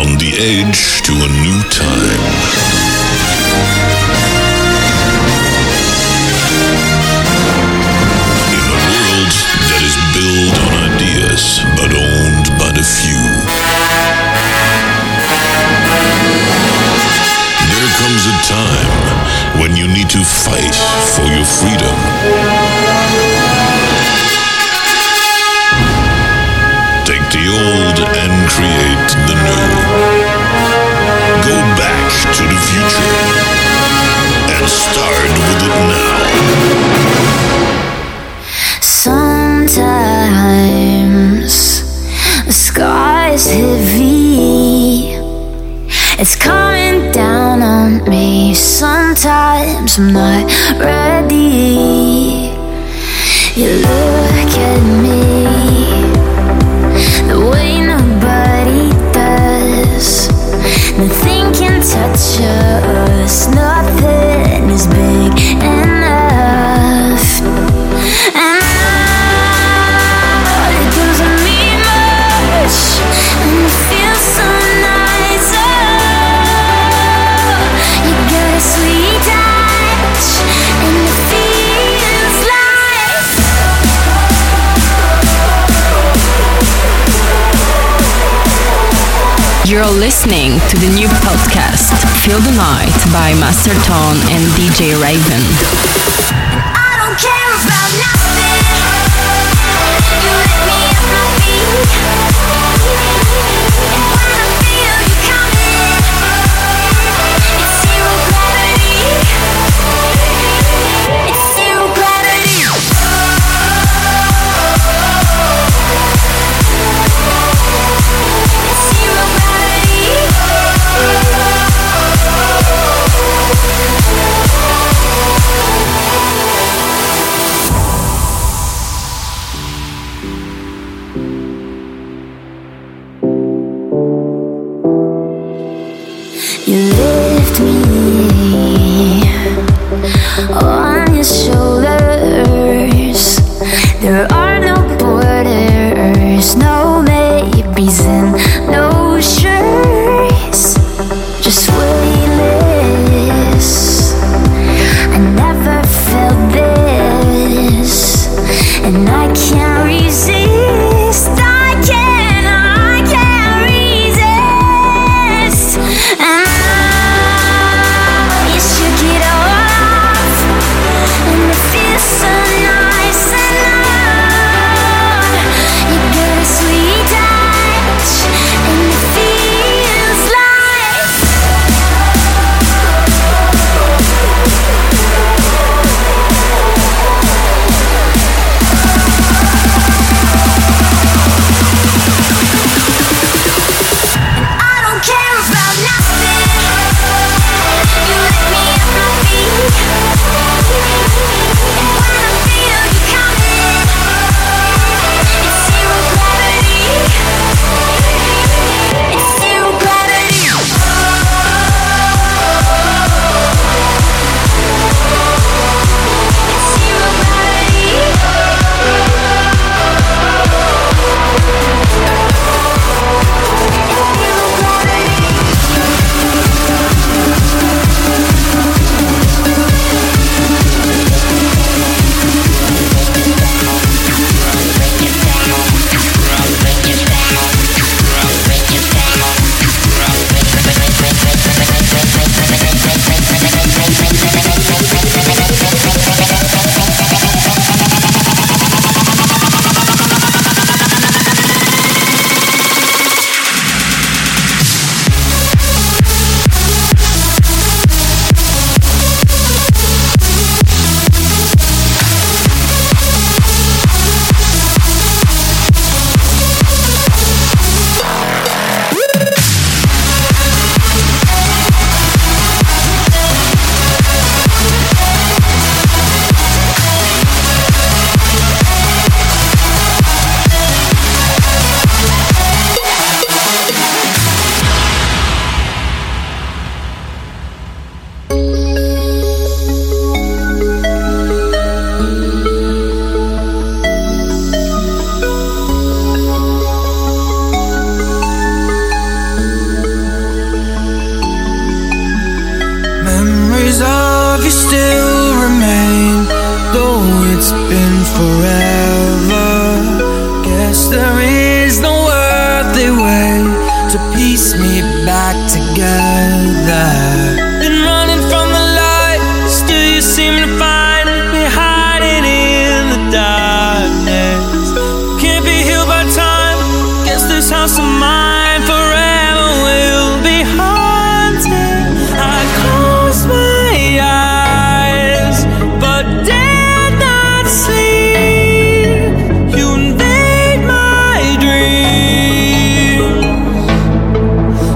On the edge to a new time. In a world that is built on ideas but owned by the few. There comes a time when you need to fight for your freedom. Take the old and create the new. Go back to the future and start with it now. Sometimes the sky's heavy. It's coming down on me. Sometimes I'm not ready. You look at me the way nobody does. Nothing can touch us. Nothing is big enough. And now it doesn't mean much, and it feels so nice. Oh, you got a sweet touch, and it feels like You're listening to the new podcast, Feel the Night by Master Tone and DJ Raven. I don't care about nothing. You lift me up my feet, and when I feel you coming, it's zero gravity. It's zero gravity. It's zero gravity. You lift me on your shoulders. There are no borders, no maybes and no sure's. Just weightless. I never felt this, and I can't resist. I can't resist. And you shook it all off, and it feels so nice. And you got a sweet touch, and it feels Memories of you still remain, though it's been forever. Guess there is no worthy way to piece me back together. Been running from the light, still you seem to find me hiding in the darkness. Can't be healed by time, guess this house of mine forever will be haunted. I close my eyes, but dare not sleep. You invade my dreams.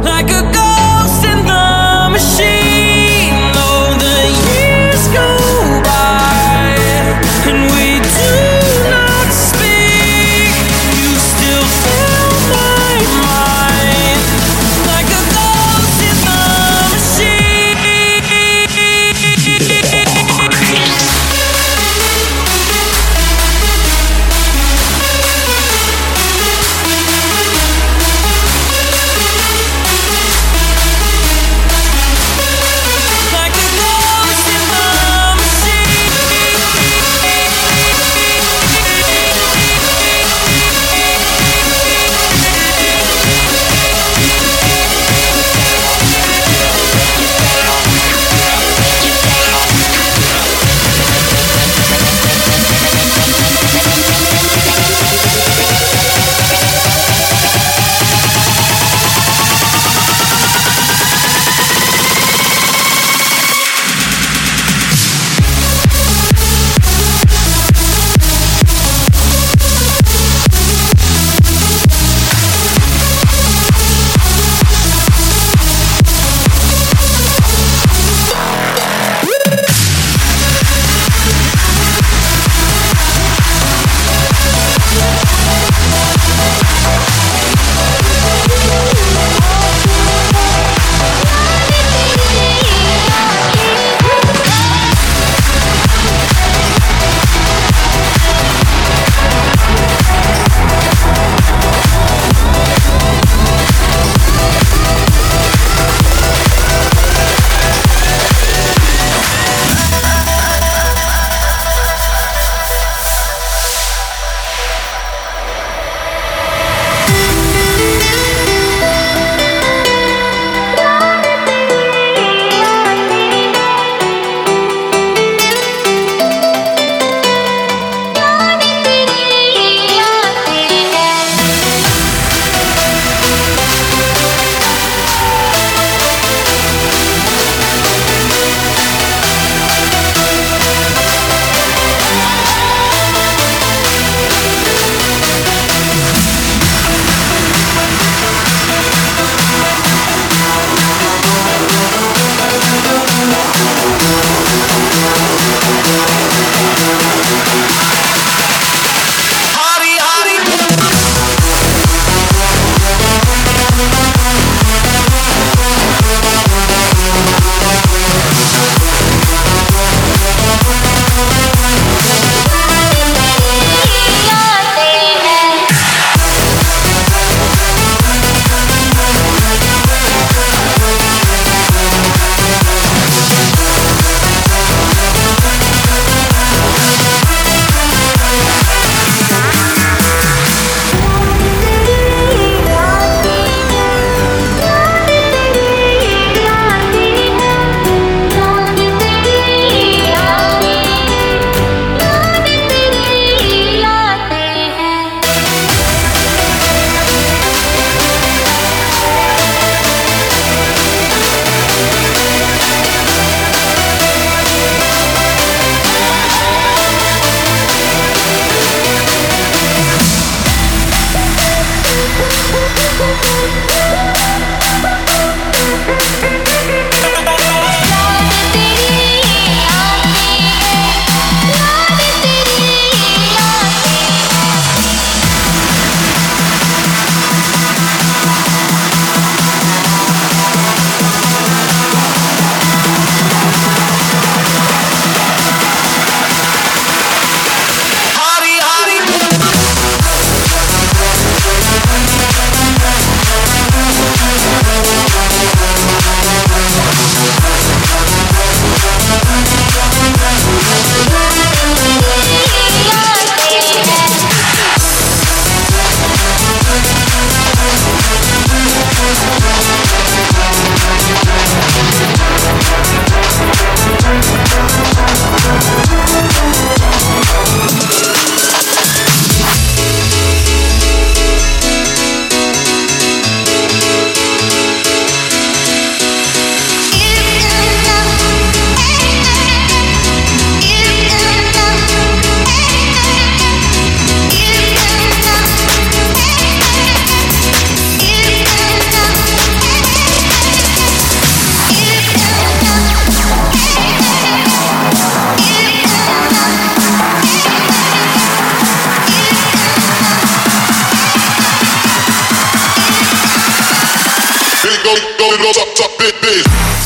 go top big.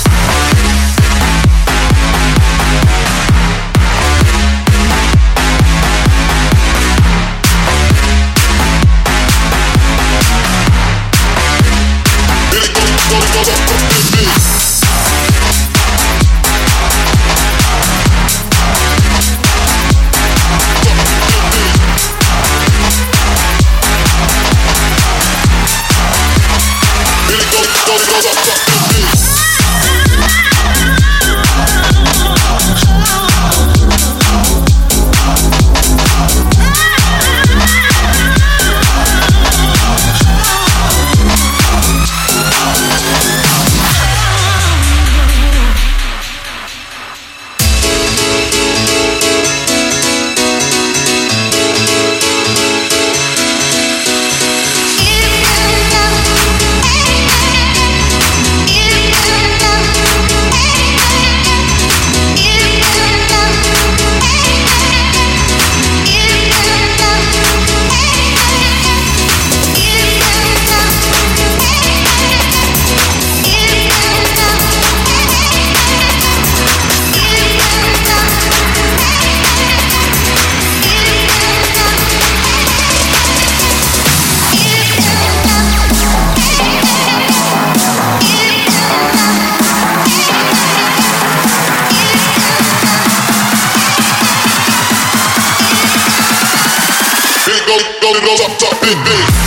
Go top big.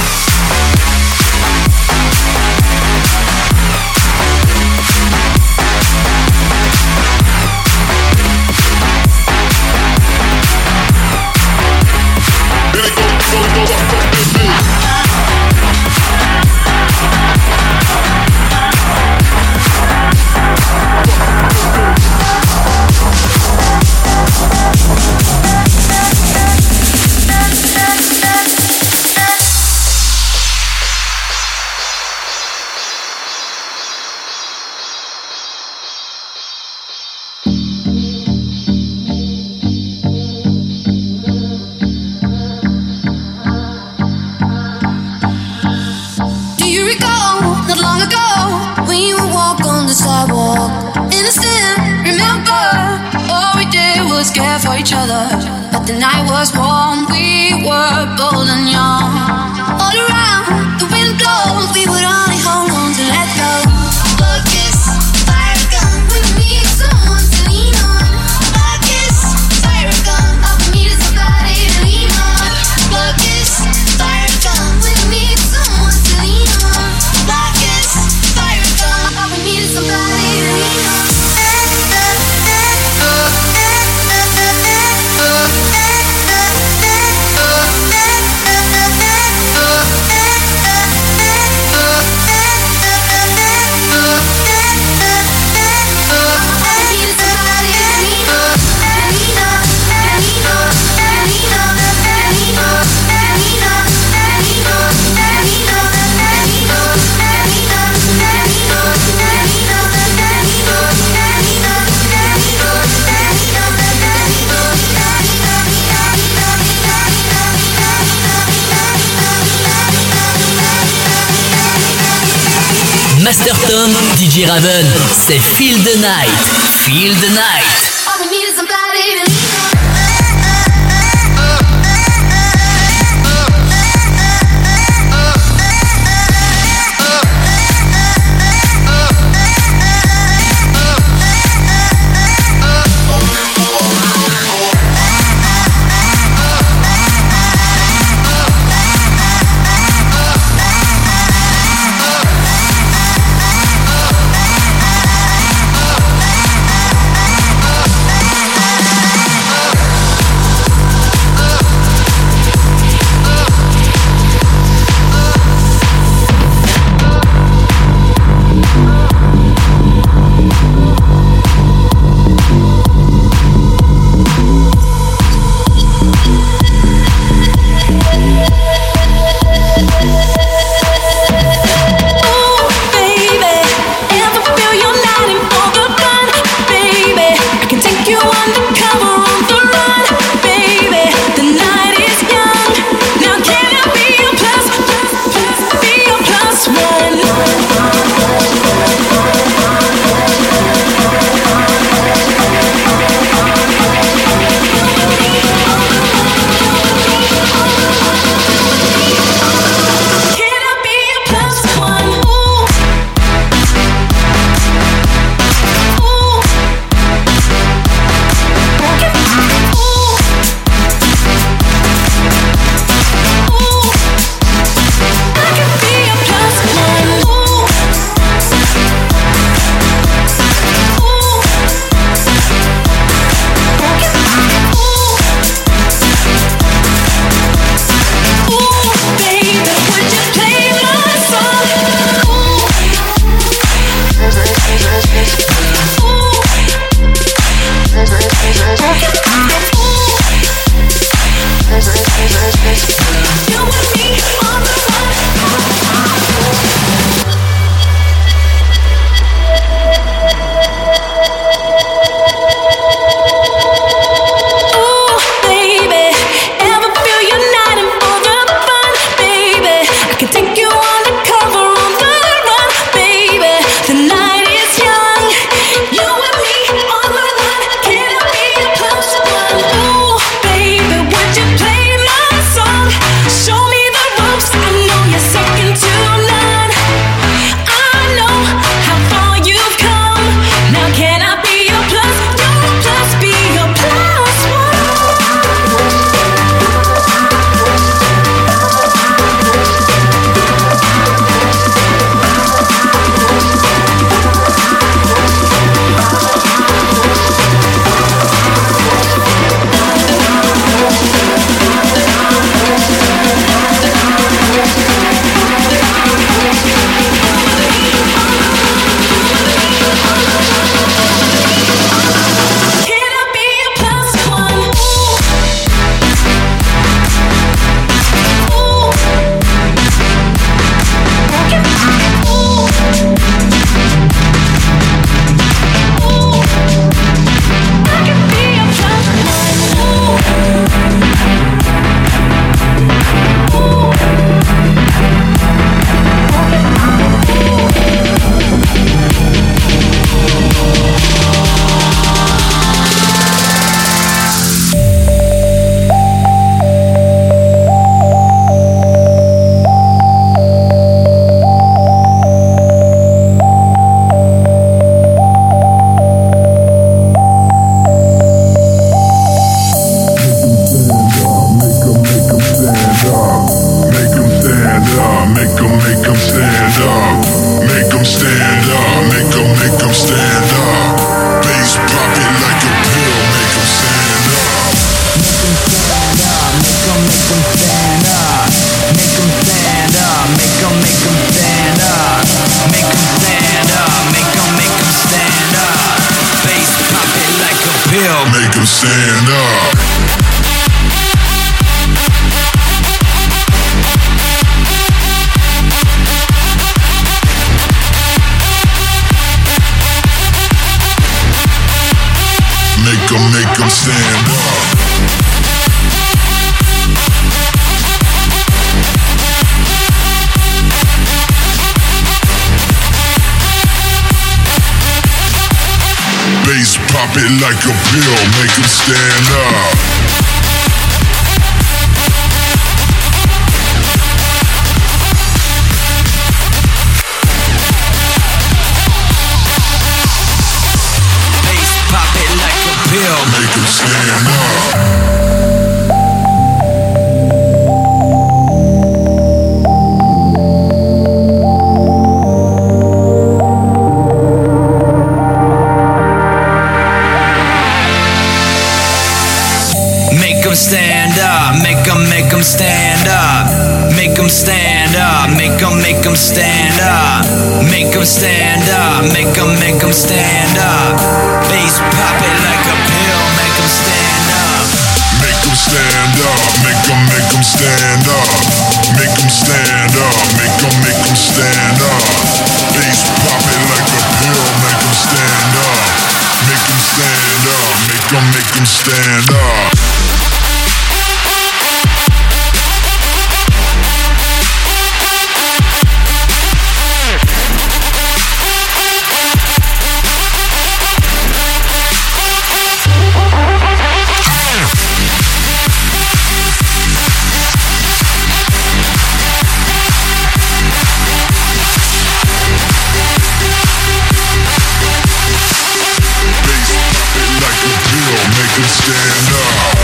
Care for each other, but the night was warm. We were bold and young. All around, the wind blows. We would only hold on to let go. Focus, fire gun. We need someone to lean on. Focus, fire gun. All we need is somebody to lean on. Focus, fire gun. We need someone to lean on. Focus, fire gun. All we need is somebody to lean on. Masterton, DJ Raven, c'est Feel the Night. Feel the Night. All we need is somebody to lean on. 'em stand up. Make 'em stand up. Bass pop it like a pill. Make 'em stand up. Make 'em stand up. Make 'em stand up. Make 'em stand up. Make 'em stand up. Make 'em stand up. Bass pop it like a pill. Make 'em stand up. Make 'em stand up. Bass pop it like a pill, make 'em stand up. Make 'em stand up. Make 'em stand up. Make 'em stand up. Make 'em stand up. Make 'em stand up. Make 'em stand up. Make 'em stand up. Bass pop it like a pill. Make 'em stand up. Make 'em stand up. Make 'em stand up. Make 'em stand up. Make 'em stand up. Bass pop it like a pill. Make 'em stand up. Make 'em stand up. Make 'em stand up. Make 'em stand up.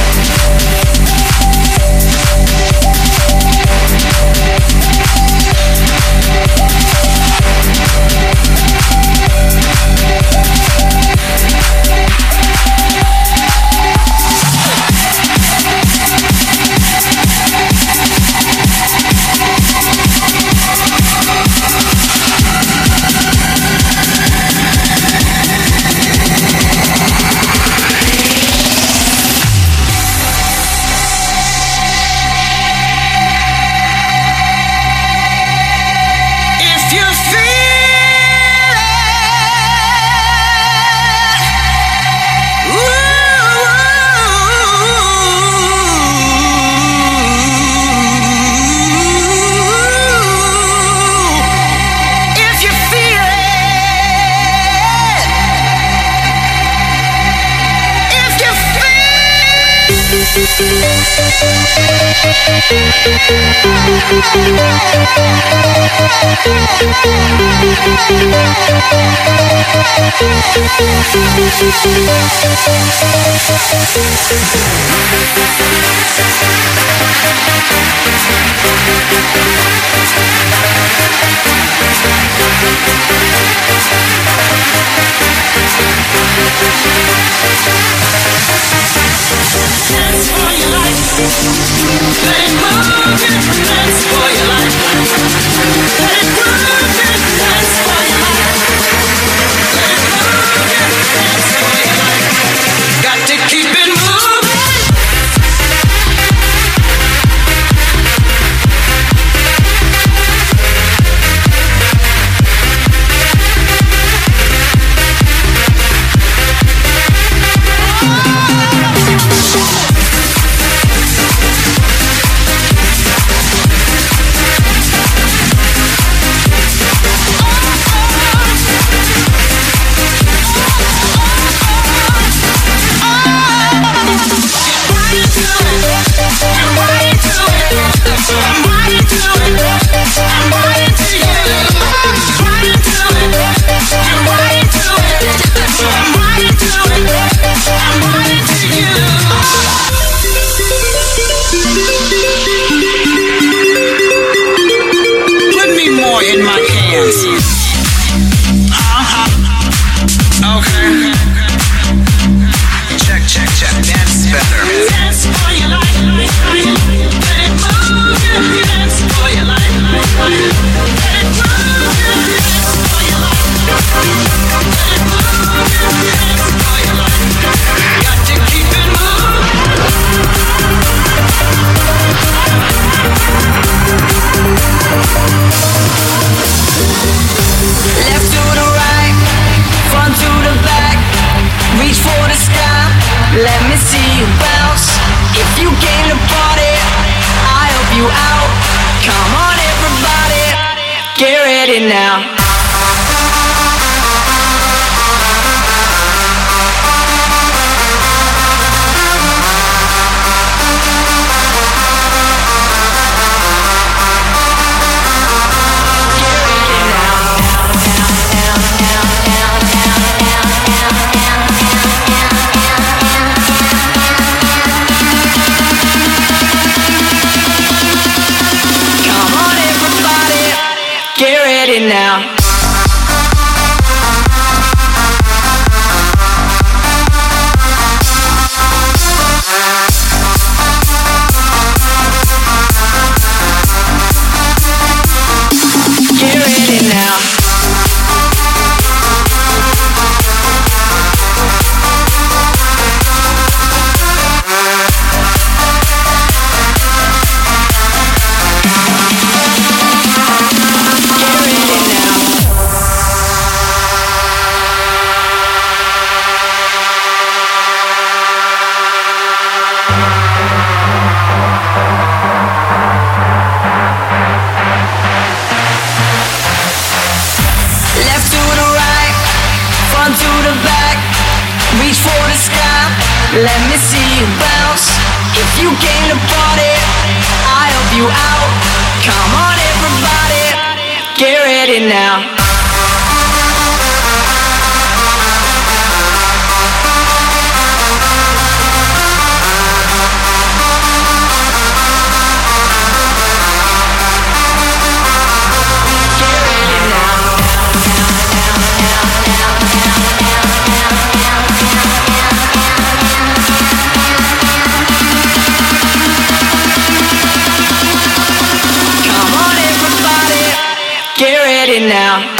see you bounce. If you came to party, I help you out. Come on everybody, get ready now. Now get ready now. Let me see you bounce. If you came to party, I help you out. Come on everybody, get ready now. Now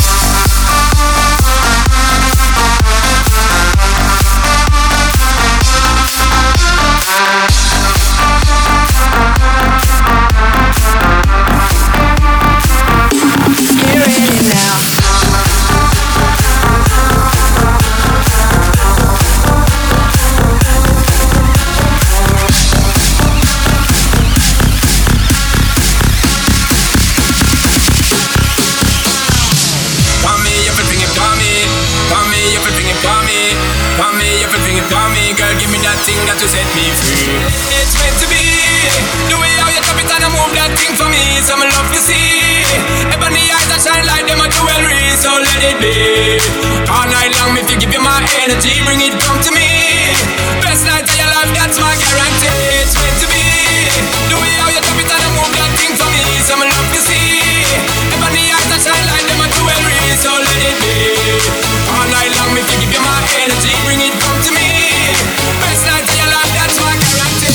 that to set me free. It's meant to be the way how you chop it and I move that thing for me. Some love to see. Ebony eyes that shine like them a jewelry, so let it be. All night long, if you give you my energy, bring it come to me. Best night of your life, that's my guarantee. It's meant to be the way how you chop it and I move that thing for me. Some love to see. Ebony eyes that shine like them a jewelry, so let it be. All night long, if you give you my energy, bring it come to me. Best night of your life, that's my guarantee.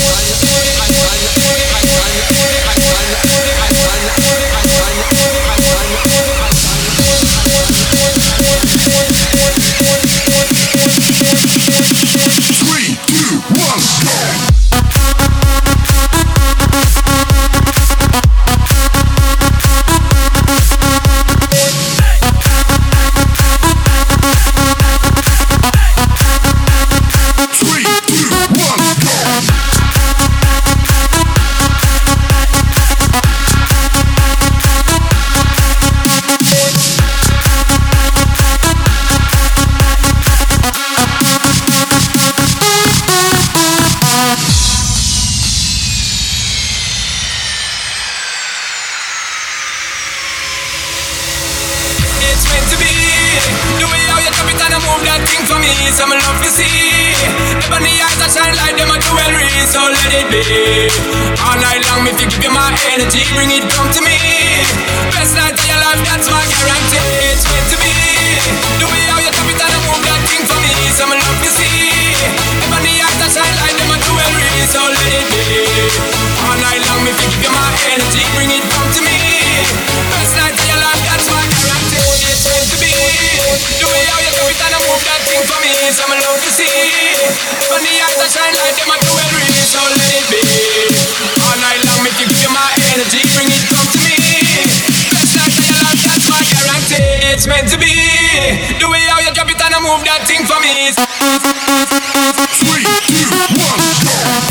Some love to see. Ebony eyes that shine like them a jewelry, so let it be. All night long, if you give you my energy, bring it come to me. Best night of your life, that's my guarantee. It's meant to be the way how you chop it and I move that thing for me. Some love to see. Ebony eyes that shine like them a jewelry, so let it be. All night long, if you give you my energy, bring it come to me. Best night of your life, that's my guarantee. It's meant to be the way how you chop it and I move that thing for me. Some love to see. Ebony eyes that shine like them a jewelry, so let it be. All night long, if you give you my energy, bring it come to me. Best night of your life, that's my guarantee. It's meant to be the way how you drop it and I move that thing for me. please. 3, 2, 1, go!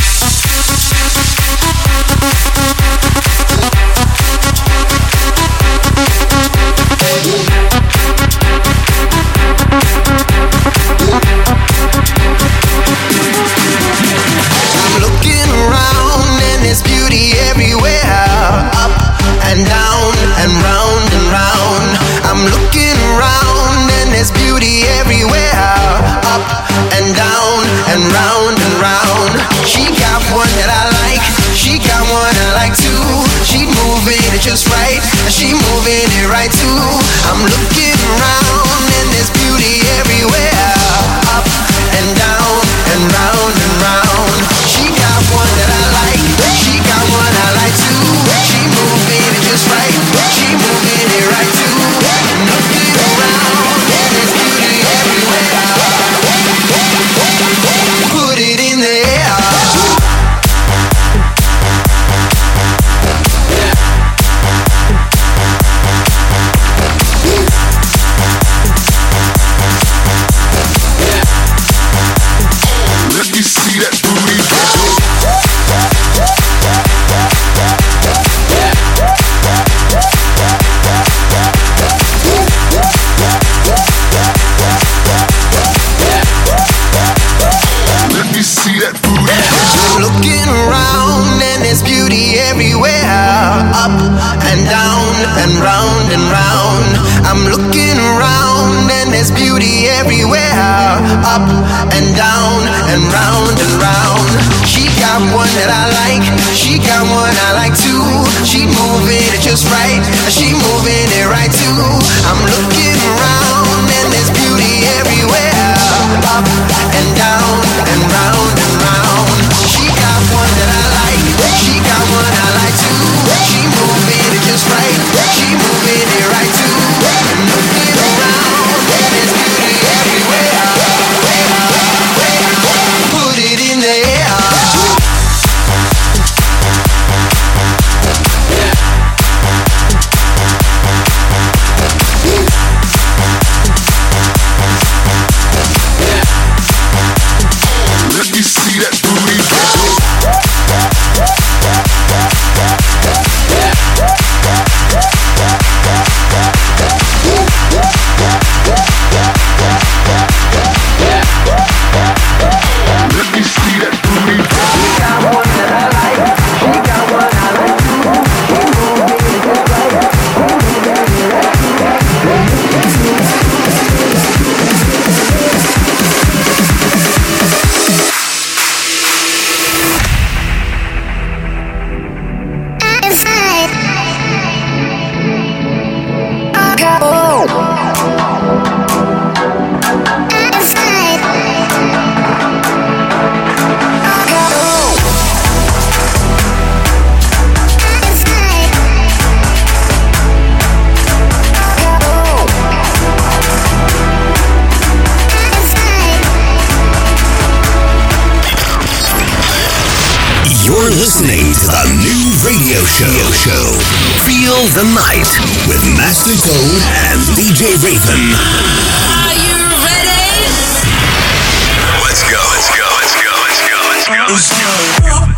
I'm looking around and there's beauty everywhere, up and down and round and round. I'm looking around and there's beauty everywhere, up and down and round and round. She got one that I like, she got one I like too. She moving it just right, and she moving it right too. I'm looking around and there's beauty everywhere, up and down and round and round. She got one that I like, she got one I like too. She moving it just right, she moving it right too. Looking around and there's beauty everywhere. Put it in the air. Let me see that booty. Let me see that booty. I'm looking around and there's beauty everywhere, up and down and round and round. I'm looking around and there's beauty everywhere, up and down and round and round. She got one that I like, she got one I like too. She moving it just right, and she moving it right too. I'm looking around and there's beauty everywhere, up and down and round and round. She got one that I like, she got one I like too. She moving it just right, she moving it right too. Looking around and there's beauty everywhere. Put it in the air. Let me see that booty. Let me see that booty. She got one that I like, she got one I like too. She moving it just right. You're listening to the new radio show, Feel the Night, with Master Tone and DJ Raven. Are you ready? Let's go. Let's go. Let's go. Let's go. Let's go. Let's go.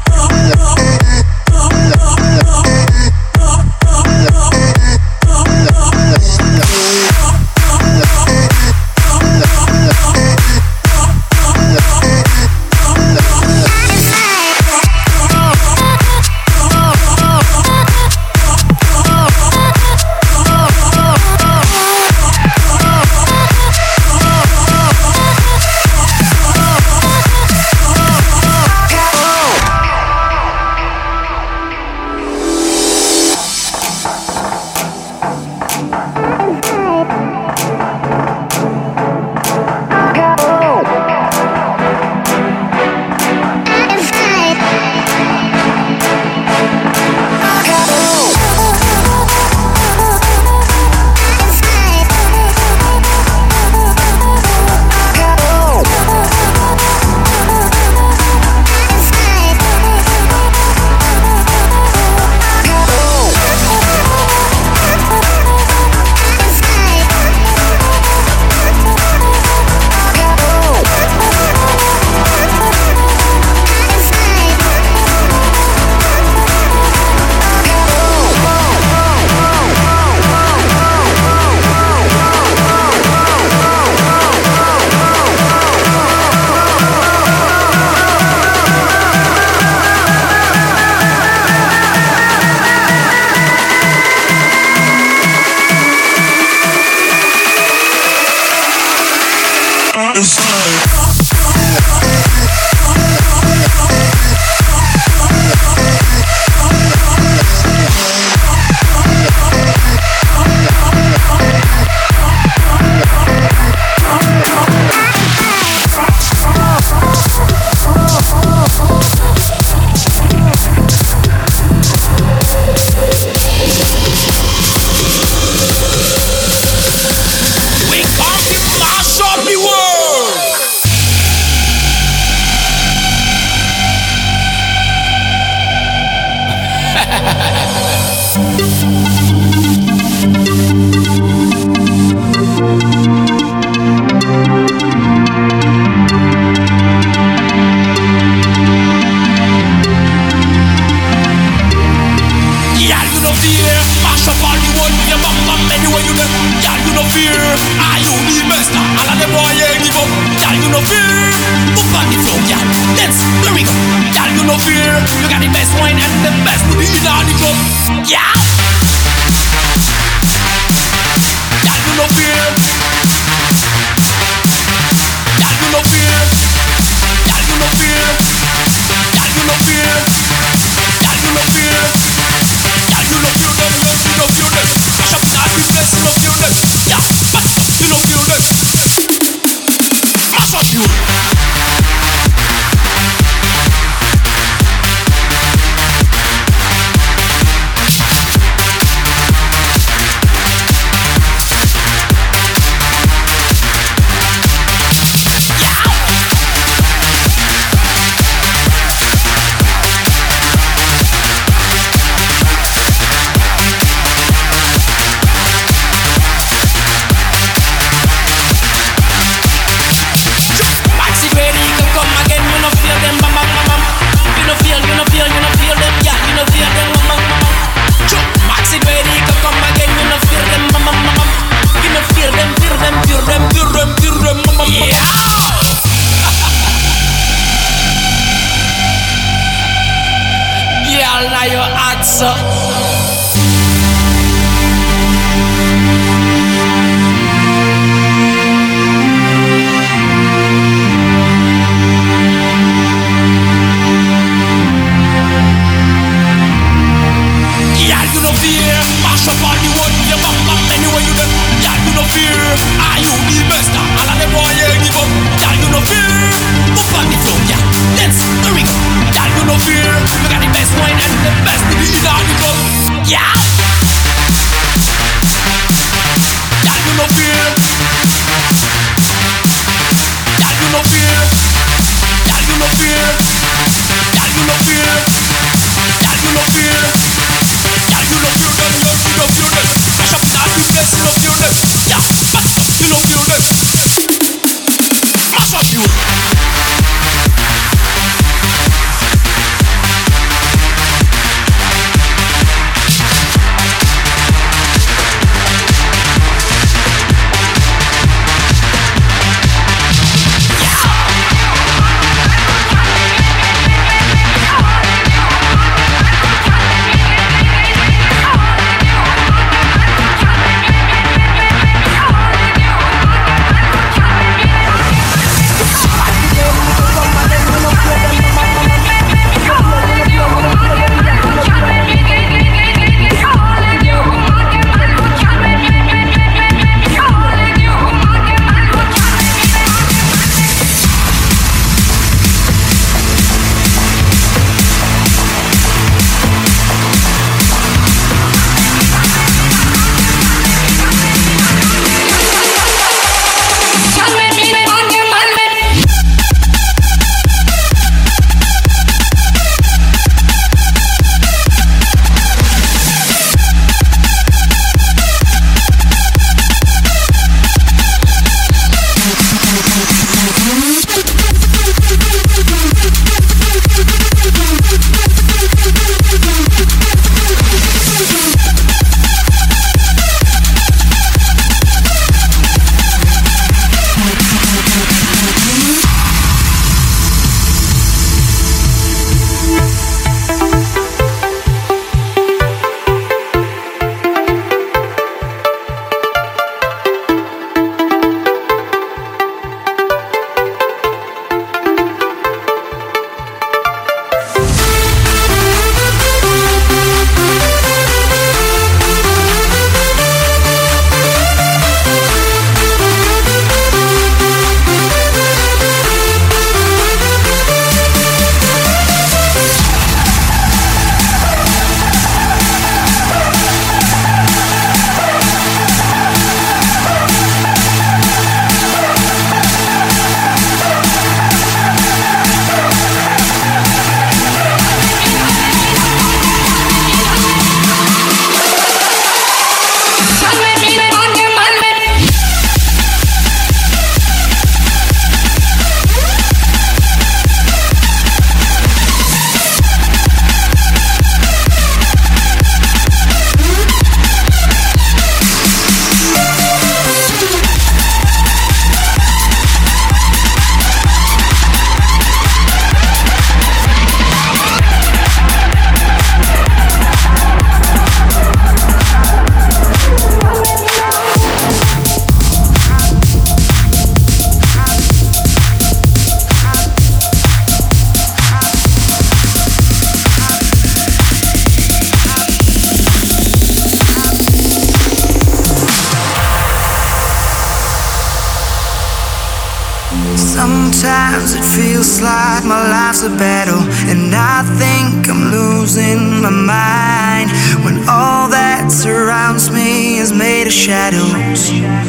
Sometimes it feels like my life's a battle, and I think I'm losing my mind when all that surrounds me is made of shadows.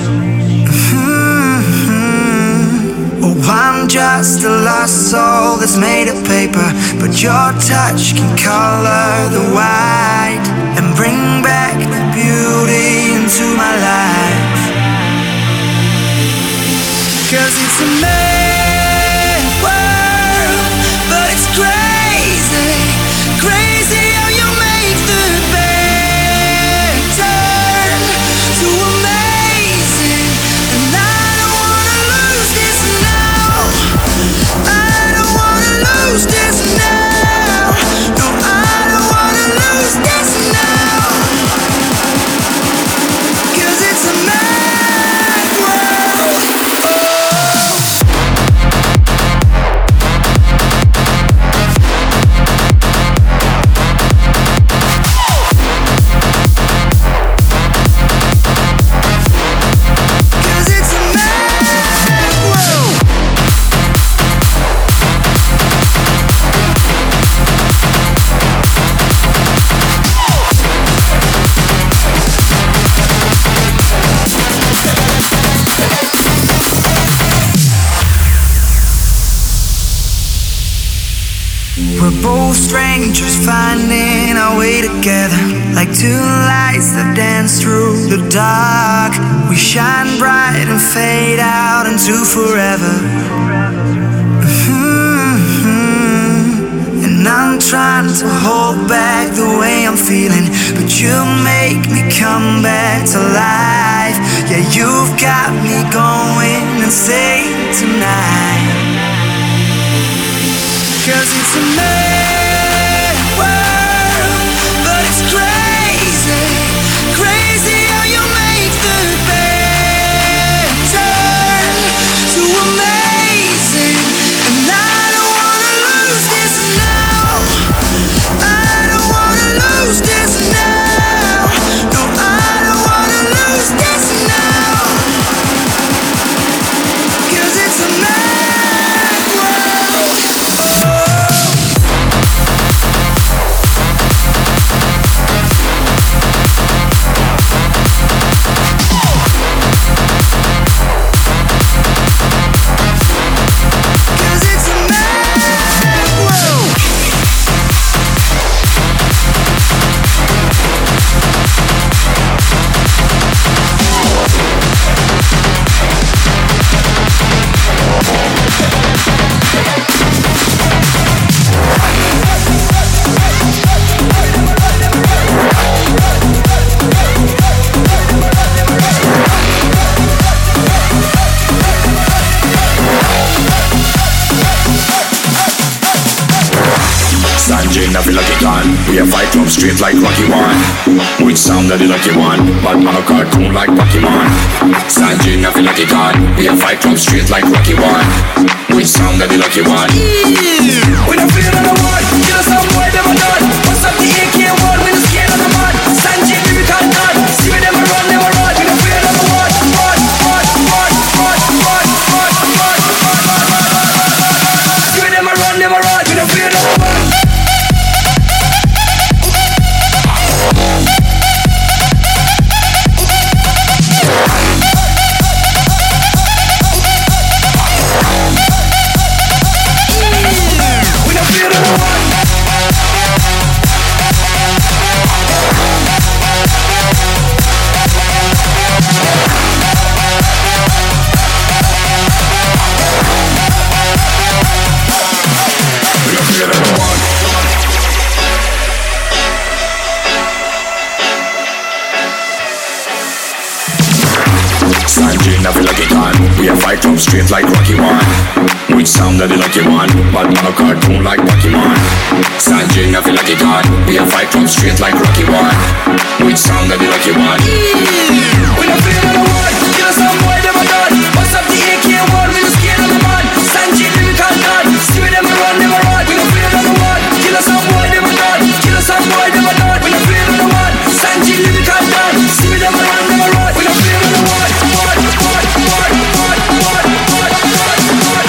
Oh, I'm just a lost soul that's made of paper, but your touch can color the white and bring back the beauty into my life. 'Cause it's a mad world, but it's crazy, crazy how you make the bad turn to amazing. And I don't wanna lose this now. I don't wanna lose this now. No, I don't wanna lose this now. 'Cause it's a mad world. We're both strangers finding our way together, like two lights that dance through the dark. We shine bright and fade out into forever. And I'm trying to hold back the way I'm feeling, but you make me come back to life. Yeah, you've got me going insane tonight. 'Cause it's a mad world, but it's crazy, crazy how you make the bad turn to amazing. And I don't wanna lose this now. I don't wanna lose this now. No, I don't wanna lose this now. 'Cause it's a mad world. Sanjay, I feel like a gun. We have fight club straight like Rocky One. Which sound that the lucky one? But man a cartoon like Pokemon. Sanjay, I feel like a gun. We have fight club straight like Rocky One. Which sound that the lucky one? We don't feel on the one. Kill us some boy, never done. What's up the AK-1? We don't scared of the mud. Sanjay, lyrical gun. See where them a run, never run. We don't feel on the one. See where them a run, never run. We don't feel on the one. Sanjay, I feel like a gun. We have fight club straight like Rocky One. Which sound that the lucky one? But man a cartoon like Pokemon. Sanjay, I feel like a gun. We have fight club straight like Rocky One. Which sound that the lucky one? We don't feel on the one. Kill us some boy, never done. What's up the AK-1? We don't scared of the mud. Sanjay, lyrical gun. See where them a run, never run. We don't feel on the one. Kill us some boy, never done. Kill us some boy, never done. We don't feel on the one. Sanjay, lyrical gun. See where them a run, never run. We don't feel on the one.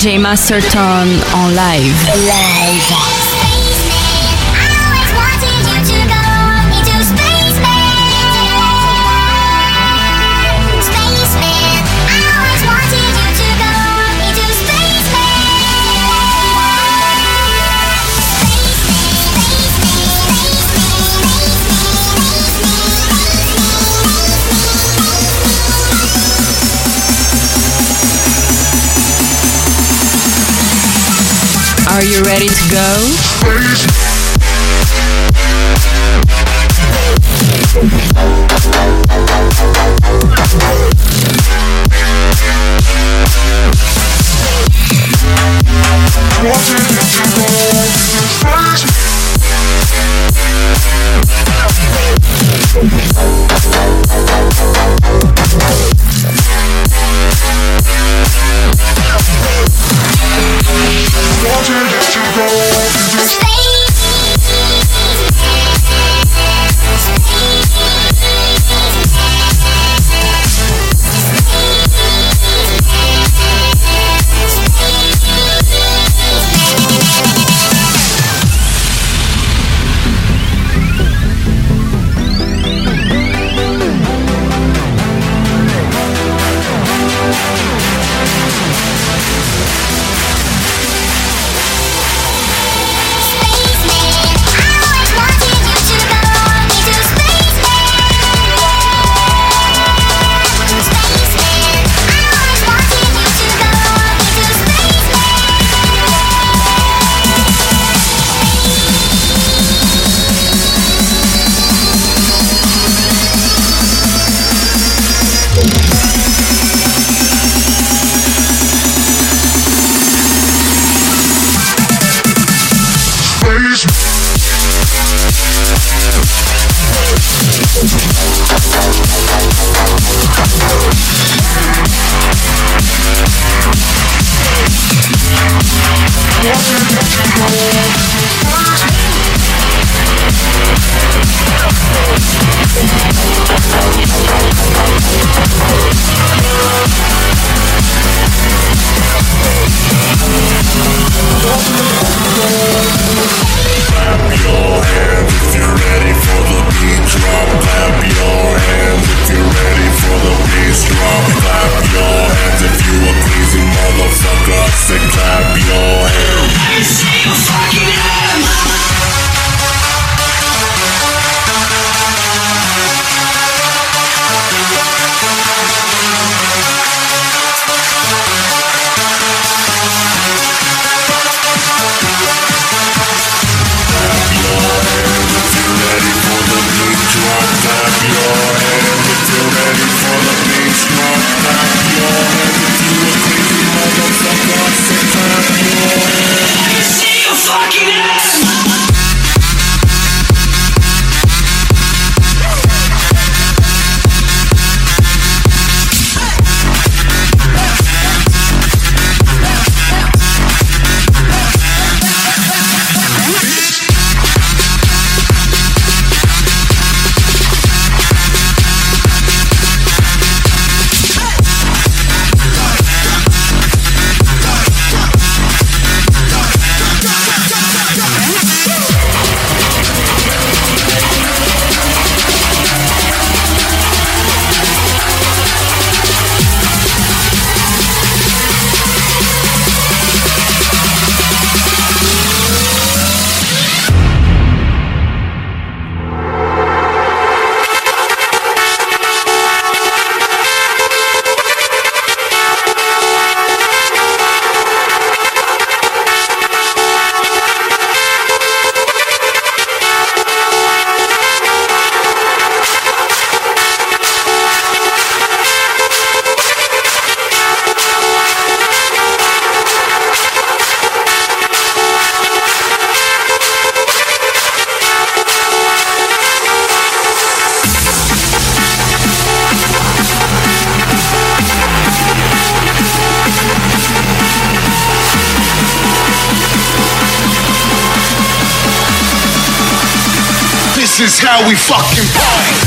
DJ Master Tone en live. Are you ready to go? This is how we fucking party.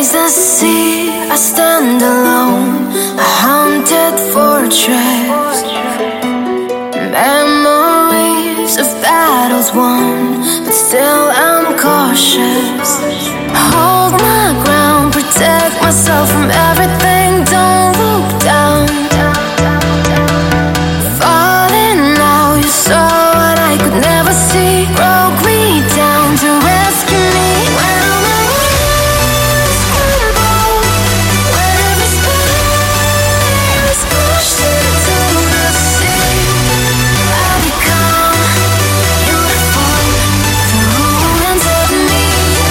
Face the sea, I stand alone, a haunted fortress. Memories of battles won, but still I'm cautious. Hold my ground, protect myself from everything, don't look down. Falling now, you saw what I could never see. Broke me down to rescue me. When my walls crumble, when every spell is pushed into the sea, I become beautiful, the ruins of me.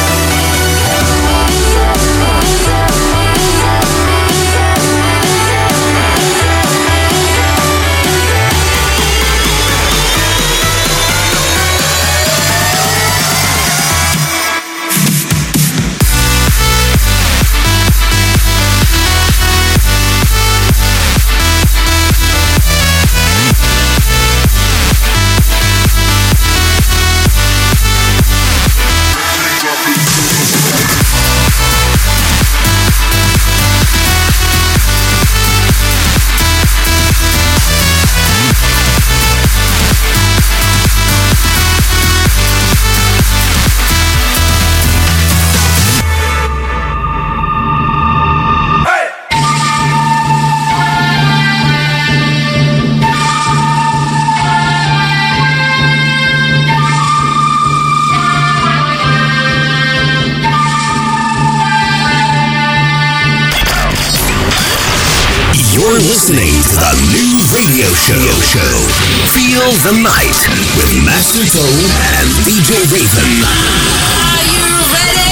You're listening to the new radio show. Feel the Night with Master Tone and DJ Raven. Are you ready?